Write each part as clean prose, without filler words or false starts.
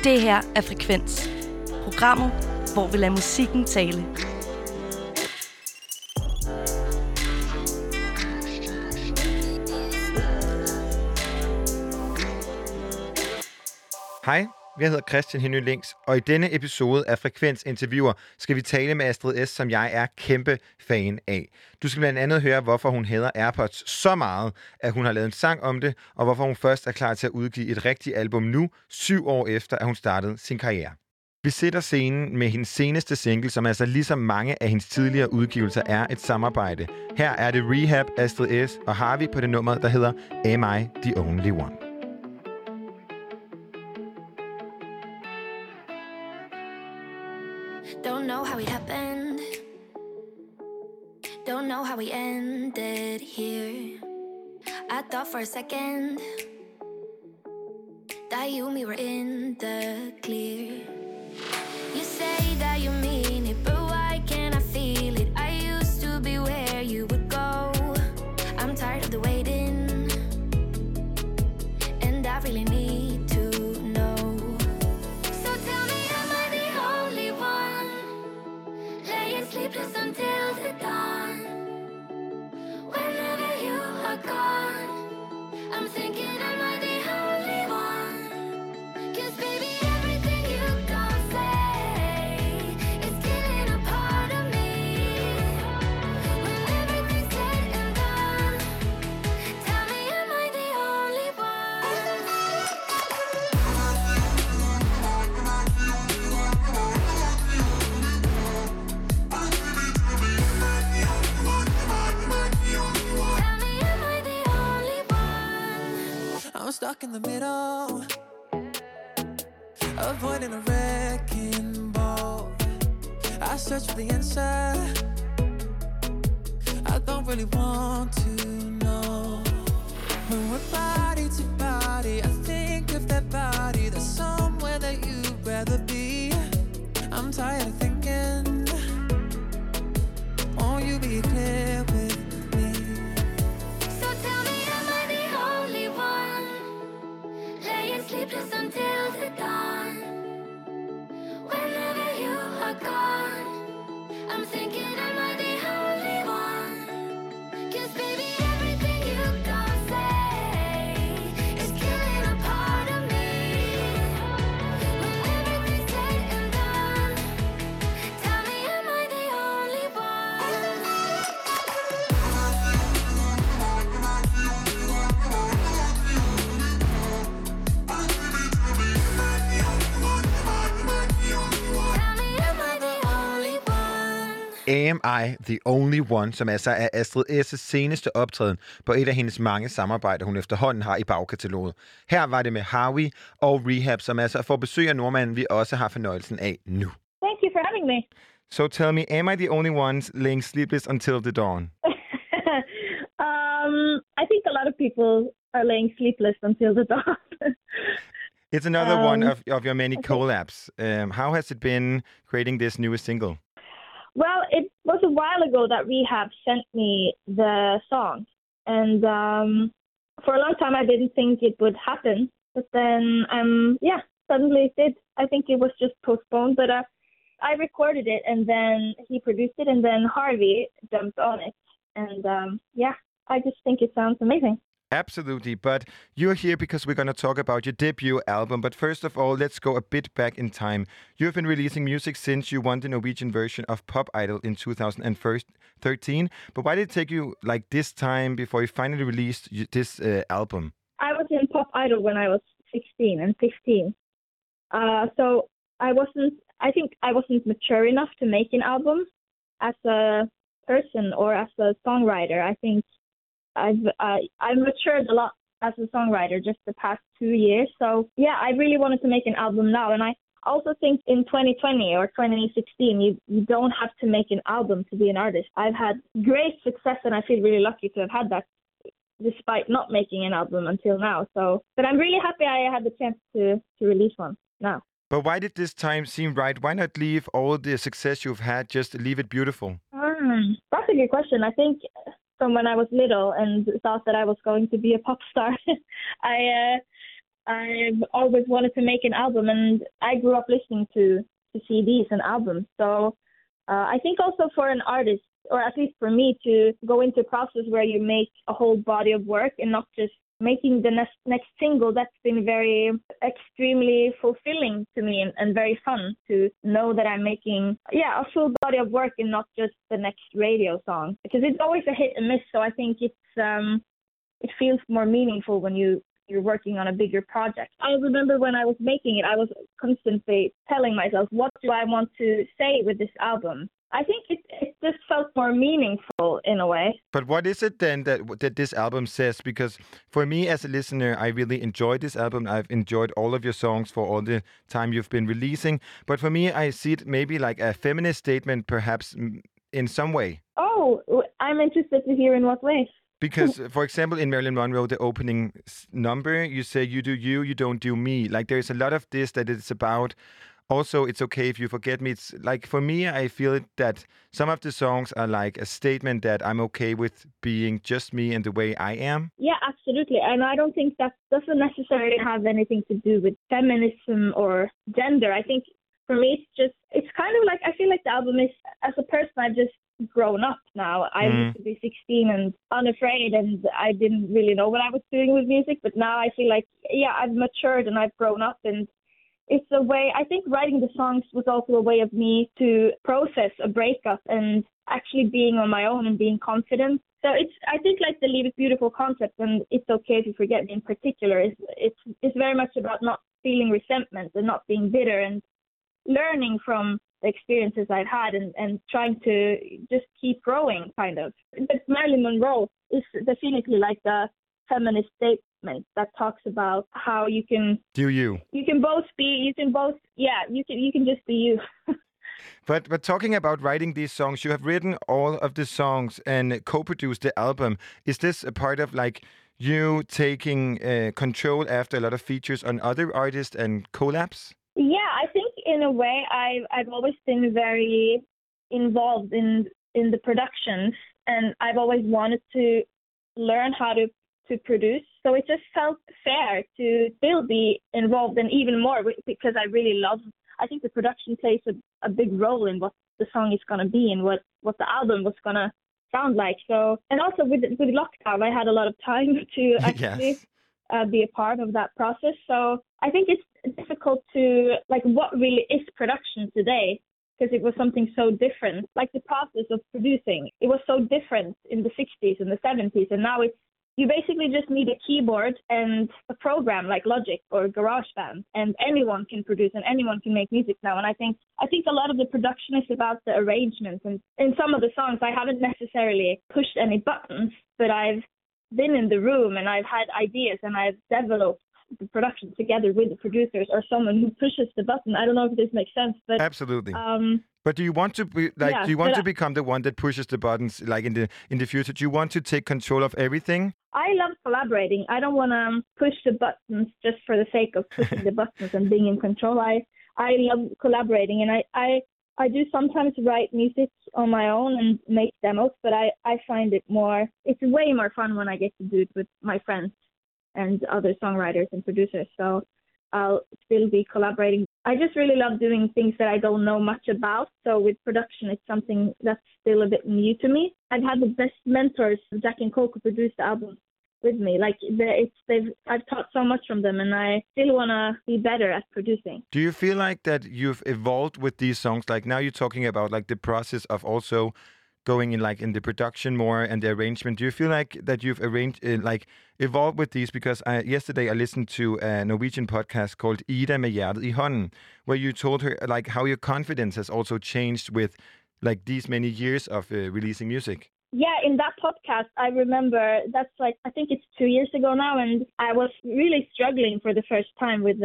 Det her er Frekvens. Programmet, hvor vi lader musikken tale. Hej, jeg hedder Christian Henny Links, og i denne episode af Frekvens Interviewer skal vi tale med Astrid S., som jeg er kæmpe fan af. Du skal blandt andet høre, hvorfor hun hader AirPods så meget, at hun har lavet en sang om det, og hvorfor hun først er klar til at udgive et rigtigt album nu, 7 år efter, at hun startede sin karriere. Vi sætter scenen med hendes seneste single, som altså ligesom mange af hendes tidligere udgivelser er et samarbejde. Her er det Rehab, Astrid S. og Harvey på det nummer, der hedder Am I The Only One? Don't know how it happened. Don't know how we ended here. I thought for a second that you and me were in the clear. You say that you mean it, but why can't I feel it? I used to be where you would go. I'm tired of the waiting, and I really need to know. So tell me, am I the only one laying sleepless until the dawn? Whenever you are gone, I'm thinking, am I the only one? 'Cause baby, everything you gon' say is killing a part of me. When everything's said and done, tell me, am I the only one? Tell me, am I the only one? I'm stuck in the middle, avoiding a wrecking ball. I search for the answer, I don't really want to know. When we're body to body, I think of that body. There's somewhere that you'd rather be. I'm tired of thinking, won't you be clear with me? So tell me, am I the only one laying sleepless until the dawn? Whenever you are gone, I'm thinking, am I the only one? 'Cause baby, everything you gon' say is killing a part of me. When everything's said and done, tell me, am I the only one? Tell me, am I the only one? Am I The Only One, som altså er Astrid S.'s seneste optræden på et af hendes mange samarbejder, hun efterhånden har i bagkataloget. Her var det med Harvey og Rehab, som altså får besøg af nordmanden, vi også har fornøjelsen af nu. Thank you for having me. So tell me, am I the only one laying sleepless until the dawn? I think a lot of people are laying sleepless until the dawn. It's another one of your many collabs. How has it been creating this newest single? Well, it was a while ago that Rehab sent me the song. And for a long time, I didn't think it would happen. But then, suddenly it did. I think it was just postponed. But I recorded it, and then he produced it, and then Harvey jumped on it. And I just think it sounds amazing. Absolutely, but you're here because we're going to talk about your debut album. But first of all, let's go a bit back in time. You've been releasing music since you won the Norwegian version of Pop Idol in 2013. But why did it take you like this time before you finally released this album? I was in Pop Idol when I was 16 and 15. So I think I wasn't mature enough to make an album as a person or as a songwriter. I think I've matured a lot as a songwriter just the past 2 years. So yeah, I really wanted to make an album now. And I also think in 2020 or 2016, you don't have to make an album to be an artist. I've had great success and I feel really lucky to have had that despite not making an album until now. But I'm really happy I had the chance to release one now. But why did this time seem right? Why not leave all the success you've had, just leave it beautiful? That's a good question. I think from when I was little and thought that I was going to be a pop star, I've always wanted to make an album, and I grew up listening to CDs and albums. So I think also for an artist, or at least for me, to go into a process where you make a whole body of work and not just making the next single, that's been very extremely fulfilling to me and very fun to know that I'm making a full body of work and not just the next radio song, because it's always a hit and miss. So I think it feels more meaningful when you're working on a bigger project. I remember when I was making it, I was constantly telling myself, what do I want to say with this album? I think it just felt more meaningful in a way. But what is it then that this album says? Because for me as a listener, I really enjoyed this album. I've enjoyed all of your songs for all the time you've been releasing. But for me, I see it maybe like a feminist statement, perhaps in some way. Oh, I'm interested to hear in what way. Because, for example, in Marilyn Monroe, the opening number, you say, you do you don't do me. Like, there's a lot of this that it's about. Also, it's okay if you forget me. It's like, for me, I feel that some of the songs are like a statement that I'm okay with being just me and the way I am. Yeah, absolutely. And I don't think that doesn't necessarily have anything to do with feminism or gender. I think for me, it's kind of like, I feel like the album is, as a person, I've just grown up now. I used to be 16 and unafraid, and I didn't really know what I was doing with music. But now I feel like, I've matured and I've grown up, and it's a way, I think writing the songs was also a way of me to process a breakup and actually being on my own and being confident. So I think like the Leave It Beautiful concept, and It's Okay If You Forget Me in particular, it's very much about not feeling resentment and not being bitter and learning from the experiences I've had and trying to just keep growing, kind of. But Marilyn Monroe is definitely like the feminist statement that talks about how you can you can just be you. But talking about writing these songs, you have written all of the songs and co-produced the album. Is this a part of like you taking control after a lot of features on other artists and collabs? Yeah, I think in a way I've always been very involved in the productions, and I've always wanted to learn how to produce. So it just felt fair to still be involved, and even more because I think the production plays a big role in what the song is going to be and what the album was going to sound like. So, and also with lockdown, I had a lot of time to actually be a part of that process. So I think it's difficult to, like, what really is production today, because it was something so different. Like the process of producing, it was so different in the 60s and the 70s, and now you basically just need a keyboard and a program like Logic or GarageBand, and anyone can produce and anyone can make music now. And I think a lot of the production is about the arrangements. And in some of the songs, I haven't necessarily pushed any buttons, but I've been in the room and I've had ideas and I've developed the production together with the producers or someone who pushes the button. I don't know if this makes sense, but absolutely. But do you want to be like? Do you want to become the one that pushes the buttons, like in the future? Do you want to take control of everything? I love collaborating. I don't want to push the buttons just for the sake of pushing the buttons and being in control. I love collaborating, and I do sometimes write music on my own and make demos, but I find it's way more fun when I get to do it with my friends and other songwriters and producers. So I'll still be collaborating. I just really love doing things that I don't know much about. So with production, it's something that's still a bit new to me. I've had the best mentors. Jack and Coco produced the album with me. Like I've taught so much from them, and I still want to be better at producing. Do you feel like that you've evolved with these songs? Like now you're talking about like the process of also going in like in the production more and the arrangement. Do you feel like that you've evolved with these? Because yesterday I listened to a Norwegian podcast called Ida med hjertet i hånden, where you told her like how your confidence has also changed with like these many years of releasing music. Yeah, in that podcast, I remember that's like, I think it's 2 years ago now, and I was really struggling for the first time with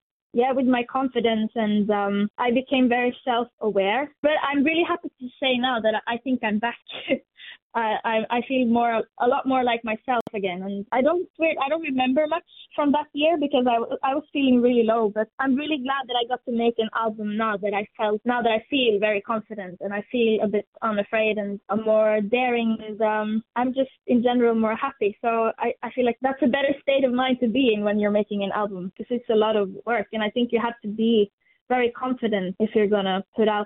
my confidence, and I became very self-aware. But I'm really happy to say now that I think I'm back I feel a lot more like myself again, and I don't remember much from that year because I was feeling really low. But I'm really glad that I got to make an album now that I feel very confident and I feel a bit unafraid and more daring, and I'm just in general more happy. So I feel like that's a better state of mind to be in when you're making an album, because it's a lot of work, and I think you have to be very confident if you're gonna put out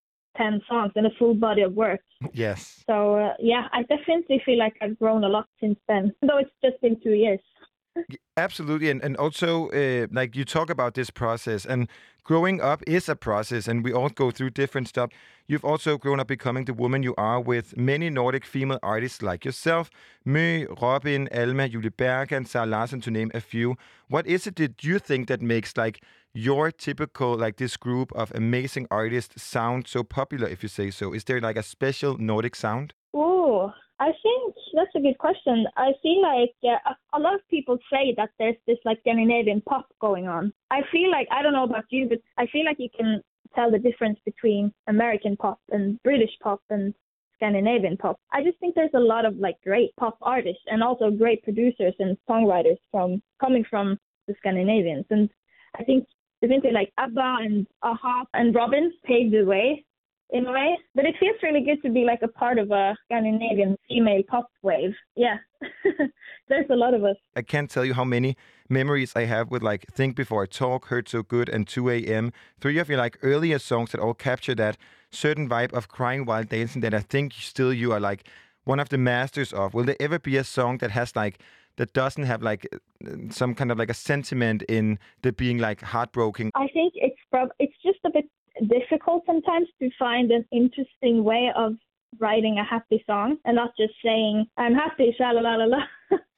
10 songs and a full body of work. Yes. So, I definitely feel like I've grown a lot since then, though it's just been 2 years. Absolutely. And also, like you talk about this process, and growing up is a process, and we all go through different stuff. You've also grown up becoming the woman you are with many Nordic female artists like yourself, Mø, Robin, Alma, Julie Bergan, Sara Larsson, to name a few. What is it that you think that makes like your typical, like this group of amazing artists sound so popular, if you say so? Is there like a special Nordic sound? Oh, I think that's a good question. I feel like a lot of people say that there's this like Scandinavian pop going on. I feel like, I don't know about you, but I feel like you can tell the difference between American pop and British pop and Scandinavian pop. I just think there's a lot of like great pop artists and also great producers and songwriters coming from the Scandinavians. And I think definitely like ABBA and a-ha and Robin paved the way in a way. But it feels really good to be like a part of a Scandinavian female pop wave. Yeah. There's a lot of us. I can't tell you how many memories I have with like Think Before I Talk, Hurt So Good, and 2 a.m. 3 of your like earlier songs that all capture that certain vibe of crying while dancing that I think still you are like one of the masters of. Will there ever be a song that has like, that doesn't have like some kind of like a sentiment in the being like heartbroken? I think it's just a bit difficult sometimes to find an interesting way of writing a happy song and not just saying I'm happy, sha la la la la.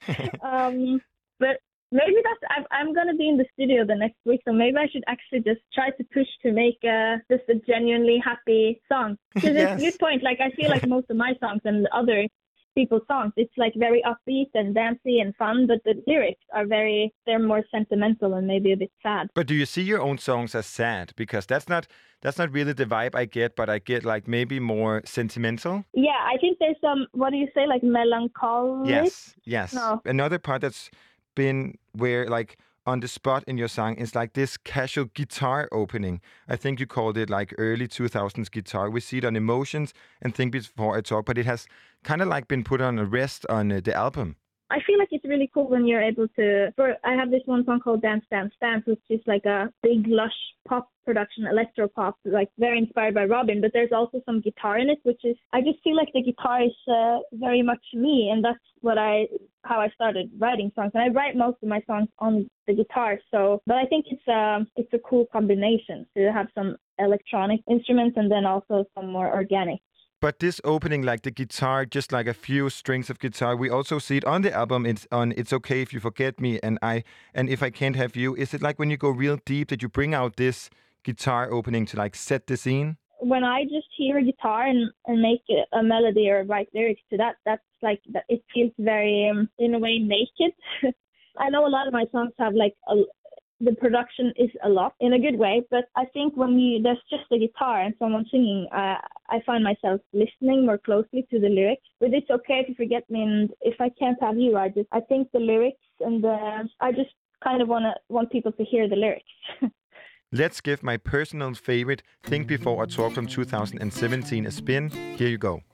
But maybe I'm gonna be in the studio the next week, so maybe I should actually just try to push to make just a genuinely happy song. Because Yes. it's a good point. Like I feel like most of my songs and other people's songs, it's like very upbeat and dancey and fun, but the lyrics are they're more sentimental and maybe a bit sad. But do you see your own songs as sad? Because that's not really the vibe I get, but I get like maybe more sentimental. Yeah, I think there's some, what do you say, like melancholic? Yes. No. Another part that's been where like on the spot in your song is like this casual guitar opening. I think you called it like early 2000s guitar. We see it on Emotions and Think Before I Talk, but it has kind of like been put on a rest on the album. I feel like it's really cool when you're able to... I have this one song called Dance, Dance, Dance, which is like a big, lush pop production, electro pop, like very inspired by Robin, but there's also some guitar in it, which is... I just feel like the guitar is very much me, and that's how I started writing songs. And I write most of my songs on the guitar, but I think it's a cool combination to have some electronic instruments and then also some more organic. But this opening, like the guitar, just like a few strings of guitar, we also see it on the album. It's on It's Okay If You Forget Me and If I Can't Have You. Is it like when you go real deep that you bring out this guitar opening to like set the scene? When I just hear a guitar and make a melody or write lyrics to that, that's like it feels very in a way naked. I know a lot of my songs have like the production is a lot in a good way, but I think when there's just a guitar and someone singing, I find myself listening more closely to the lyrics. But It's Okay If You Forget Me and If I Can't Have You, I think the lyrics and I just kind of want people to hear the lyrics. Let's give my personal favorite, Think Before I Talk from 2017, a spin. Here you go.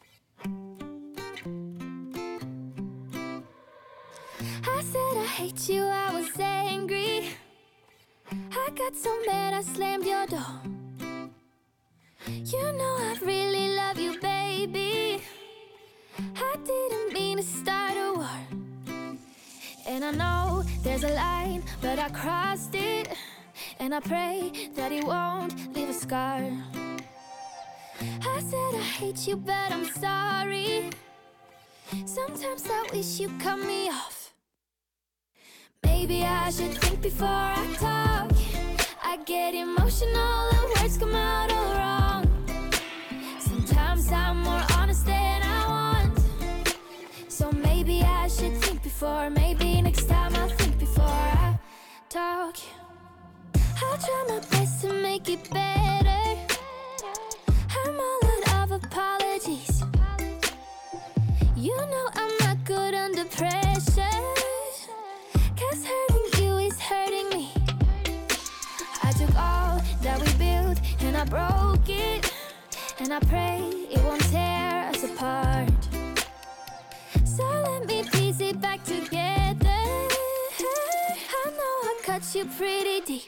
I said I hate you, I was angry. I got so mad I slammed your door. You know I really love you, baby. I didn't mean to start a war. And I know there's a line, but I crossed it. And I pray that it won't leave a scar. I said I hate you, but I'm sorry. Sometimes I wish you cut me off. Maybe I should think before I talk. I get emotional, the words come out all wrong. Sometimes I'm more honest than I want. So maybe I should think before. Maybe next time I'll think before I talk. I'll try my best to make it better. I'm all out of apologies. I pray it won't tear us apart. So let me piece it back together. I know I cut you pretty deep.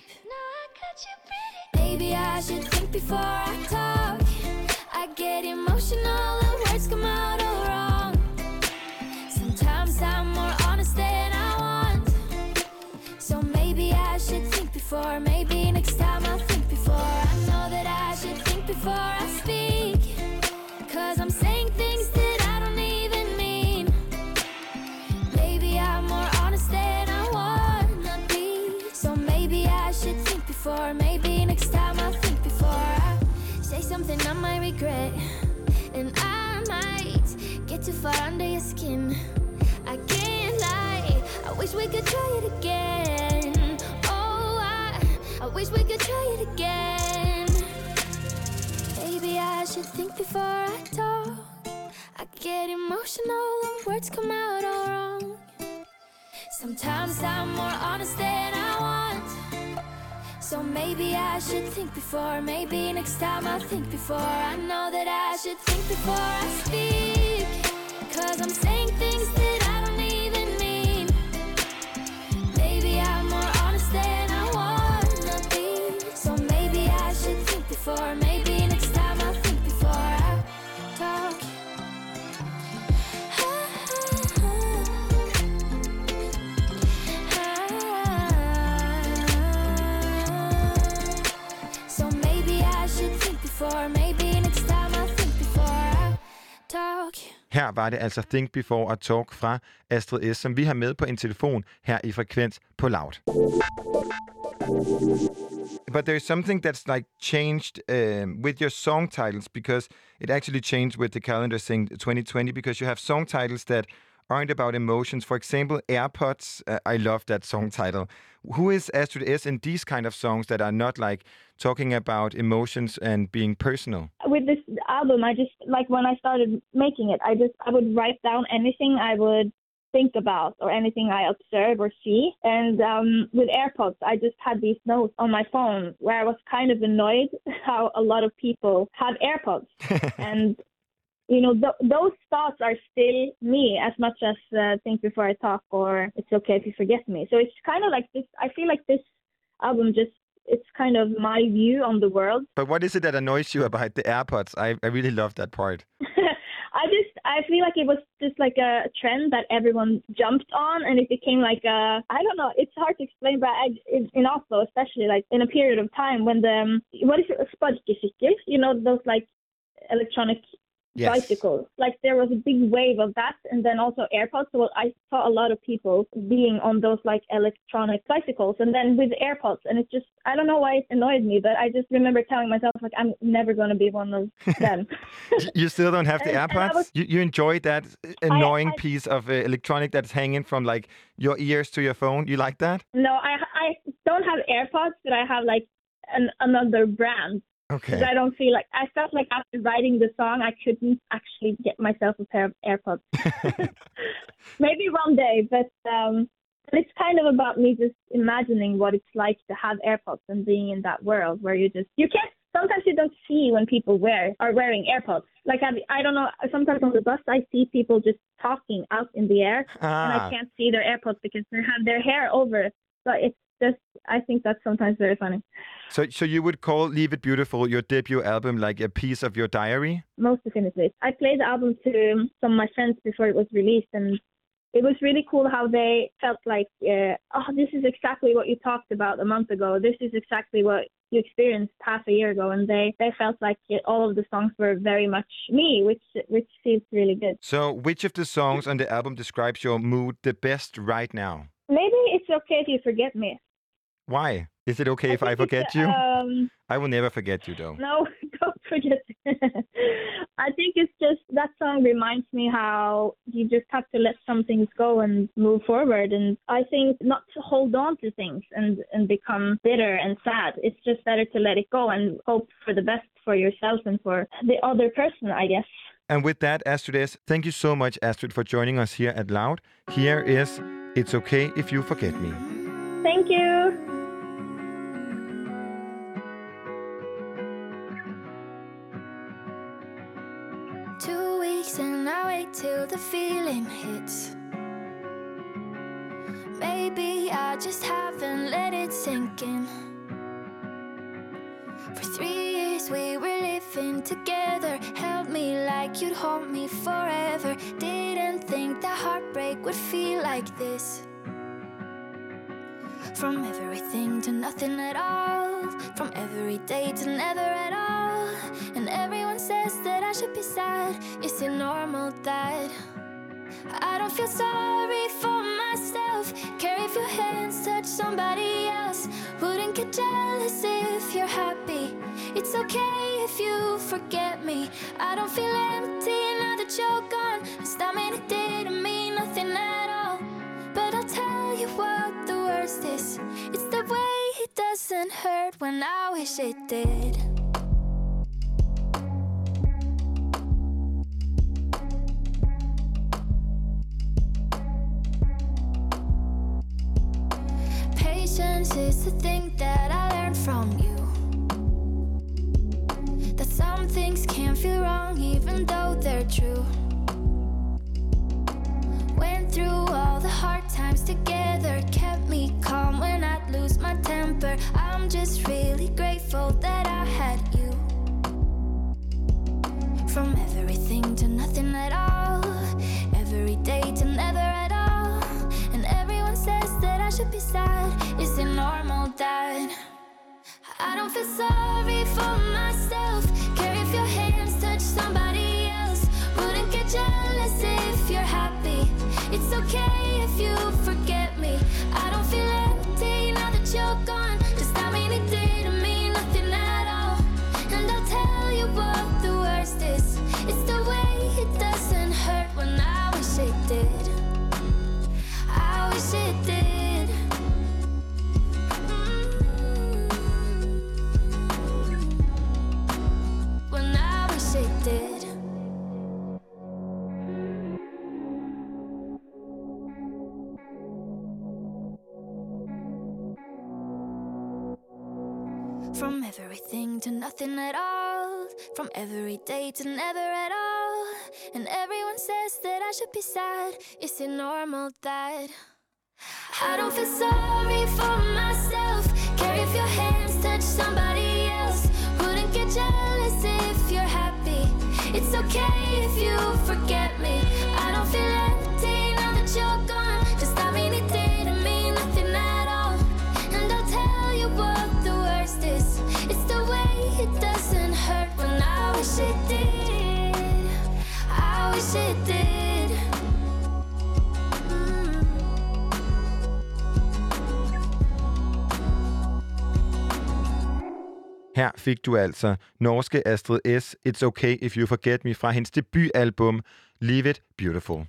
Maybe I should think before I talk. I get emotional and words come out all wrong. Sometimes I'm more honest than I want. So maybe I should think before. Maybe next time I'll think before. I know that I should think before I speak. 'Cause I'm saying things that I don't even mean. Maybe I'm more honest than I wanna be. So maybe I should think before. Maybe next time I'll think before I say something I might regret. And I might get too far under your skin. I can't lie, I wish we could try it again. Oh, I wish we could try it again. Maybe I should think before I talk. I get emotional and words come out all wrong. Sometimes I'm more honest than I want. So maybe I should think before. Maybe next time I'll think before. I know that I should think before I speak. 'Cause I'm saying things that I don't even mean. Maybe I'm more honest than I wanna be. So maybe I should think before. Maybe next time I'll think before I talk. So maybe I should think before. Maybe next time I'll think before I talk. Her var det altså Think Before og Talk fra Astrid S., som vi har med på en telefon her i Frekvens på Loud. But there's something that's like changed with your song titles, because it actually changed with the calendar thing 2020, because you have song titles that aren't about emotions. For example, AirPods. I love that song title. Who is Astrid S in these kind of songs that are not like talking about emotions and being personal? With this album, I just, like, when I started making it, I would write down anything I would think about or anything I observe or see. And with AirPods, I just had these notes on my phone where I was kind of annoyed how a lot of people have AirPods. And you know, those thoughts are still me as much as Think Before I Talk or It's Okay If You Forget Me. So it's kind of like this. I feel like this album it's kind of my view on the world. But what is it that annoys you about the AirPods? I really love that part. I feel like it was just like a trend that everyone jumped on, and it became like I don't know, it's hard to explain, but in Oslo especially, like in a period of time when what is it, a sparkecykel, you know, those like electronic bicycles. Like there was a big wave of that, and then also AirPods. So I saw a lot of people being on those like electronic bicycles, and then with AirPods, and it just, I don't know why it annoyed me, but I just remember telling myself like I'm never going to be one of them. You still don't have the AirPods? You enjoy that annoying piece of electronic that's hanging from like your ears to your phone? You like that? No, I don't have AirPods, but I have like another brand. Okay. Because I don't feel like, I felt like after writing the song, I couldn't actually get myself a pair of AirPods. Maybe one day, but it's kind of about me just imagining what it's like to have AirPods and being in that world where sometimes you don't see when people are wearing AirPods. Like, I don't know, sometimes on the bus I see people just talking out in the air, and I can't see their AirPods because they have their hair over it. So it's just, I think that's sometimes very funny. So you would call Leave It Beautiful, your debut album, like a piece of your diary? Most definitely. I played the album to some of my friends before it was released, and it was really cool how they felt like, this is exactly what you talked about a month ago. This is exactly what you experienced half a year ago. And they felt like all of the songs were very much me, which feels really good. So which of the songs on the album describes your mood the best right now? Maybe It's Okay If You Forget Me. Why? Is it okay if I forget you? I will never forget you, though. No, don't forget. I think it's just, that song reminds me how you just have to let some things go and move forward. And I think not to hold on to things and become bitter and sad. It's just better to let it go and hope for the best for yourself and for the other person, I guess. And with that, Astrid S., thank you so much, Astrid, for joining us here at Loud. Here is It's Okay If You Forget Me. Thank you. wait till the feeling hits. Maybe I just haven't let it sink in. For 3 years we were living together, held me like you'd hold me forever. Didn't think that heartbreak would feel like this. From everything to nothing at all, from every day to never at all. And everyone says that I should be sad. Is it normal that I don't feel sorry for myself? Care if your hands touch somebody else. Wouldn't get jealous if you're happy. It's okay if you forget me. I don't feel empty now that you're gone. I mean, it didn't mean nothing at all. But I'll tell you what the worst is. It's the way it doesn't hurt when I wish it did. Patience is the thing that I learned from you. That some things can't feel wrong even though they're true. Went through all the hard times together, kept me calm when I'd lose my temper. I'm just really grateful that I had you. From everything to nothing at all, every day to never at all. And everyone says that I should be sad. Is it normal that I don't feel sorry for myself? Care if your hands touch somebody else. Wouldn't get jealous if you're happy. It's okay if you forget me. I don't feel empty now that you're gone. Does that mean it didn't mean nothing at all? And I'll tell you what the worst is. It's the way it doesn't hurt when I wish it did. I wish it did. When I wish it did. From everything to nothing at all, from every day to never at all. And everyone says that I should be sad. Is it normal that I don't feel sorry for myself? Care if your hands touch somebody else. Wouldn't get jealous if you're happy. It's okay if you forget me. I don't feel empty now that you're gone. Does that mean it didn't mean nothing at all? And I'll tell you what the worst is. It's the way it doesn't hurt when I wish it did. I wish it did. Her fik du altså norske Astrid S. It's Okay If You Forget Me fra hendes debutalbum Leave It Beautiful.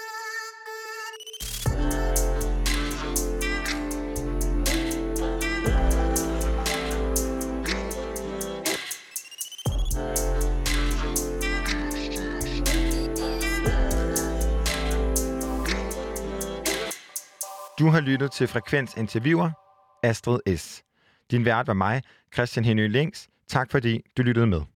Du har lyttet til Frekvens Interviewer, Astrid S. Din vært var mig, Christian Henny Links. Tak fordi du lyttede med.